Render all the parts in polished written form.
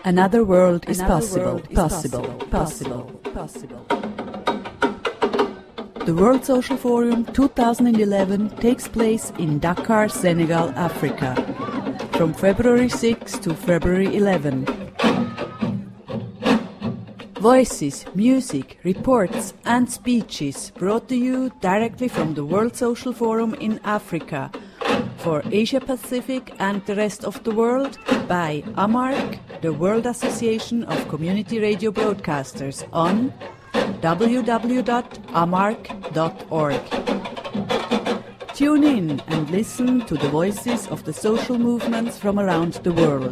Another world is possible. The World Social Forum 2011 takes place in Dakar, Senegal, Africa, from February 6 to February 11. Voices, music, reports and speeches brought to you directly from the World Social Forum in Africa for Asia Pacific and the rest of the world by AMARC, the World Association of Community Radio Broadcasters, on www.amarc.org. Tune in and listen to the voices of the social movements from around the world.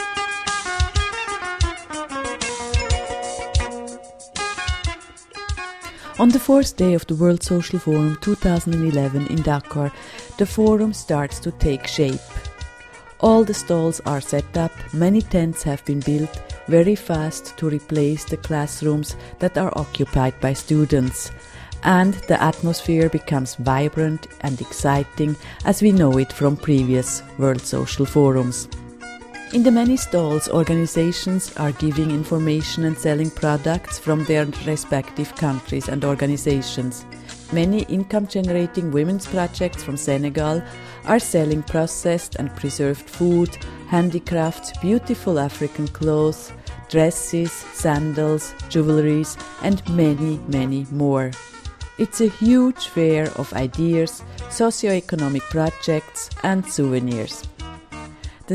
On the fourth day of the World Social Forum 2011 in Dakar, the forum starts to take shape. All the stalls are set up, many tents have been built very fast to replace the classrooms that are occupied by students, and the atmosphere becomes vibrant and exciting as we know it from previous World Social Forums. In the many stalls, organizations are giving information and selling products from their respective countries and organizations. Many income-generating women's projects from Senegal are selling processed and preserved food, handicrafts, beautiful African clothes, dresses, sandals, jewelries, and many, many more. It's a huge fair of ideas, socio-economic projects, and souvenirs. The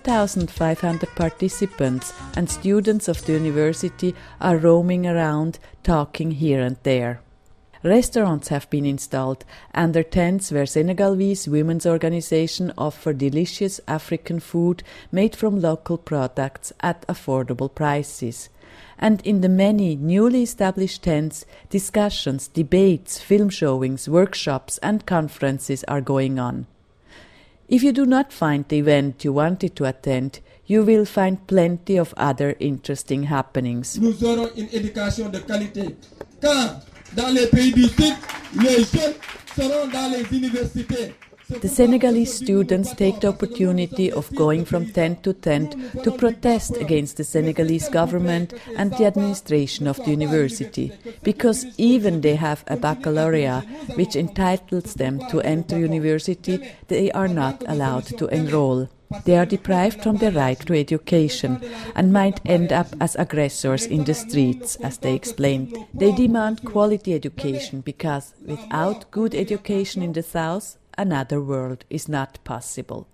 7,500 participants and students of the university are roaming around, talking here and there. Restaurants have been installed under tents where Senegalese women's organization offer delicious African food made from local products at affordable prices. And in the many newly established tents, discussions, debates, film showings, workshops and conferences are going on. If you do not find the event you wanted to attend, you will find plenty of other interesting happenings. Nous aurons une éducation de qualité, car dans les pays du Sud, les jeunes seront dans les universités. The Senegalese students take the opportunity of going from tent to tent to protest against the Senegalese government and the administration of the university, because even they have a baccalaureate which entitles them to enter university, they are not allowed to enroll. They are deprived from their right to education and might end up as aggressors in the streets, as they explained. They demand quality education because without good education in the south, another world is not possible.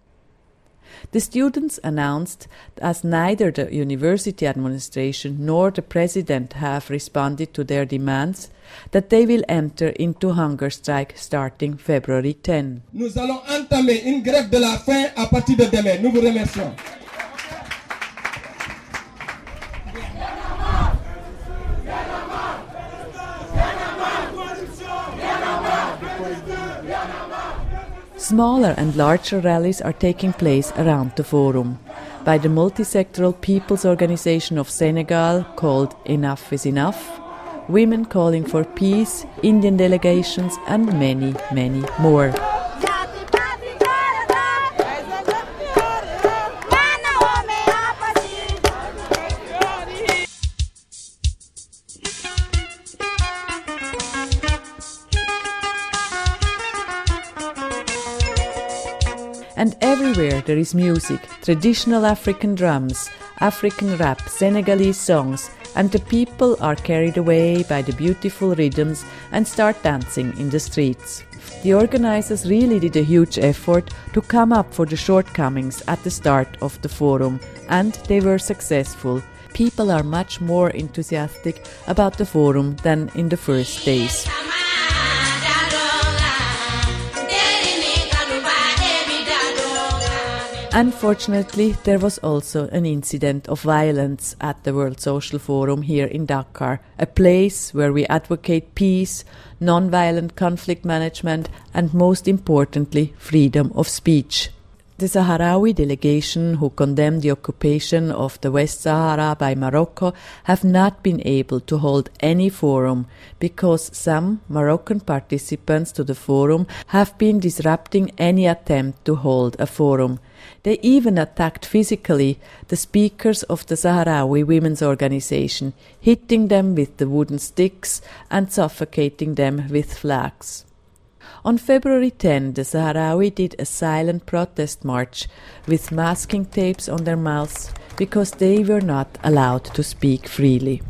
The students announced, as neither the university administration nor the president have responded to their demands, that they will enter into hunger strike starting February 10. Nous allons entamer une grève de la faim à partir de demain. Nous vous remercions. Smaller and larger rallies are taking place around the forum. By the multisectoral People's Organization of Senegal, called Enough is Enough, women calling for peace, Indian delegations and many, many more. And everywhere there is music, traditional African drums, African rap, Senegalese songs, and the people are carried away by the beautiful rhythms and start dancing in the streets. The organizers really did a huge effort to come up for the shortcomings at the start of the forum, and they were successful. People are much more enthusiastic about the forum than in the first days. Unfortunately, there was also an incident of violence at the World Social Forum here in Dakar, a place where we advocate peace, non-violent conflict management and most importantly, freedom of speech. The Sahrawi delegation who condemned the occupation of the West Sahara by Morocco have not been able to hold any forum because some Moroccan participants to the forum have been disrupting any attempt to hold a forum. They even attacked physically the speakers of the Sahrawi Women's Organization, hitting them with the wooden sticks and suffocating them with flags. On February 10, the Sahrawi did a silent protest march with masking tapes on their mouths because they were not allowed to speak freely.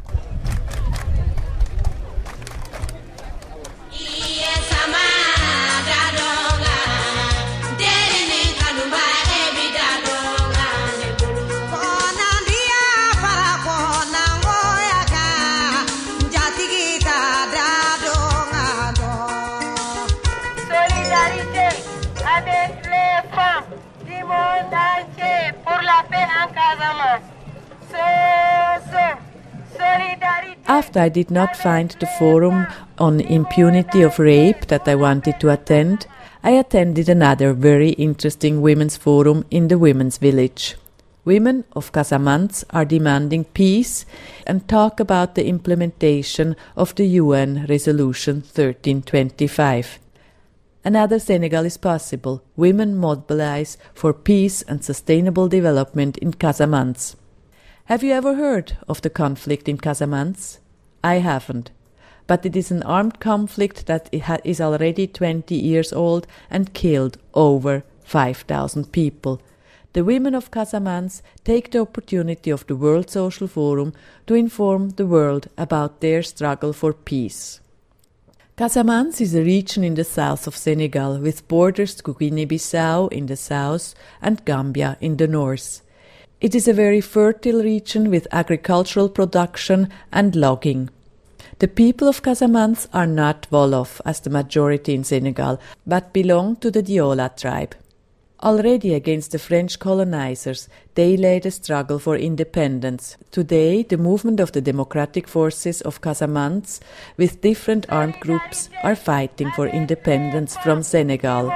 After I did not find the forum on impunity of rape that I wanted to attend, I attended another very interesting women's forum in the women's village. Women of Casamance are demanding peace and talk about the implementation of the UN Resolution 1325. Another Senegal is possible. Women mobilize for peace and sustainable development in Casamance. Have you ever heard of the conflict in Casamance? I haven't. But it is an armed conflict that is already 20 years old and killed over 5,000 people. The women of Casamance take the opportunity of the World Social Forum to inform the world about their struggle for peace. Casamance is a region in the south of Senegal with borders to Guinea-Bissau in the south and Gambia in the north. It is a very fertile region with agricultural production and logging. The people of Casamance are not Wolof as the majority in Senegal, but belong to the Diola tribe. Already against the French colonizers, they led a struggle for independence. Today, the movement of the democratic forces of Casamance, with different armed groups, are fighting for independence from Senegal.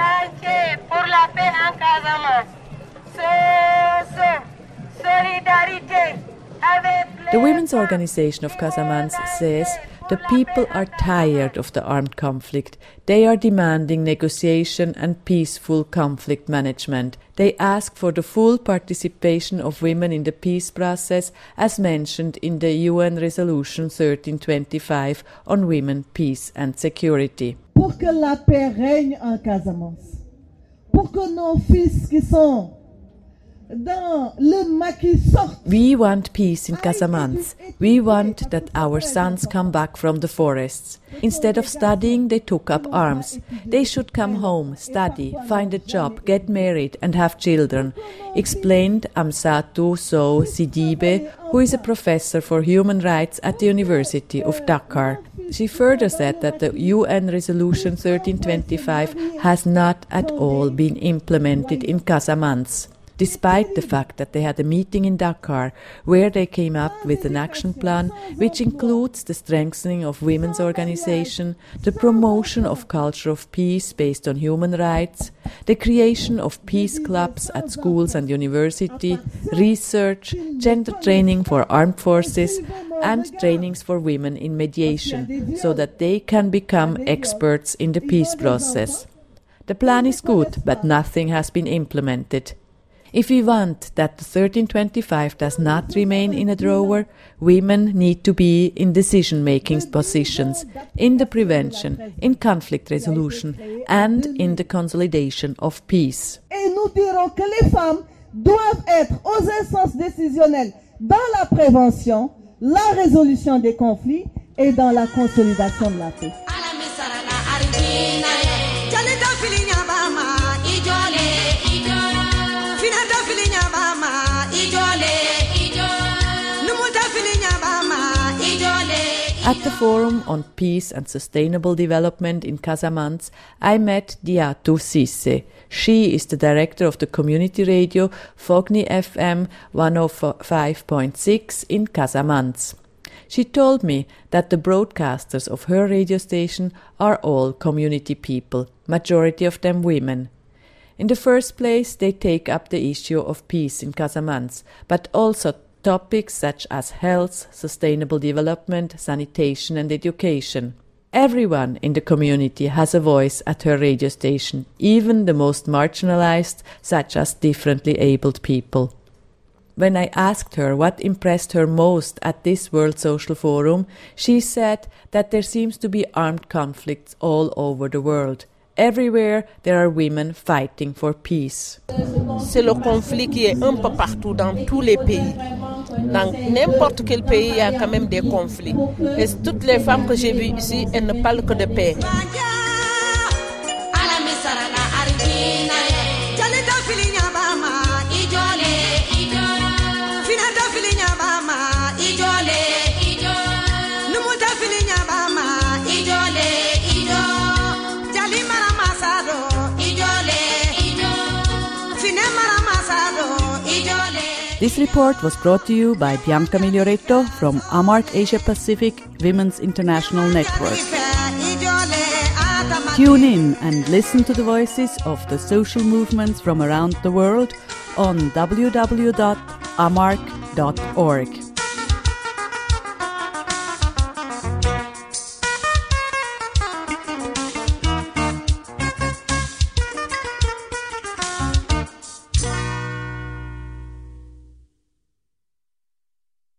The Women's Organization of Casamance says the people are tired of the armed conflict. They are demanding negotiation and peaceful conflict management. They ask for the full participation of women in the peace process as mentioned in the UN Resolution 1325 on women, peace and security. Pour que la paix règne en Casamance. Pour que nos fils qui sont We want peace in Casamance. We want that our sons come back from the forests. Instead of studying, they took up arms. They should come home, study, find a job, get married and have children, explained Amsatou Sow Sidibe, who is a professor for human rights at the University of Dakar. She further said that the UN Resolution 1325 has not at all been implemented in Casamance, despite the fact that they had a meeting in Dakar where they came up with an action plan which includes the strengthening of women's organization, the promotion of culture of peace based on human rights, the creation of peace clubs at schools and university, research, gender training for armed forces, and trainings for women in mediation so that they can become experts in the peace process. The plan is good, but nothing has been implemented. If we want that the 1325 does not remain in a drawer, women need to be in decision-making positions, in the prevention, in conflict resolution, and in the consolidation of peace. Et nous dirons que les femmes doivent être aux instances décisionnelles dans la prévention, la résolution des conflits et dans la consolidation de la paix. At the Forum on Peace and Sustainable Development in Casamance, I met Diatou Cissé. She is the director of the community radio Fogni FM 105.6 in Casamance. She told me that the broadcasters of her radio station are all community people, majority of them women. In the first place, they take up the issue of peace in Casamance, but also topics such as health, sustainable development, sanitation and education. Everyone in the community has a voice at her radio station, even the most marginalized, such as differently abled people. When I asked her what impressed her most at this World Social Forum, she said that there seems to be armed conflicts all over the world. Everywhere there are women fighting for peace. C'est le conflit qui est un peu partout dans tous les pays. Dans n'importe quel pays, il y a quand même des conflits. Et toutes les femmes que j'ai vues ici, elles ne parlent que de paix. This report was brought to you by Bianca Miglioretto from AMARC Asia Pacific Women's International Network. Tune in and listen to the voices of the social movements from around the world on www.amarc.org.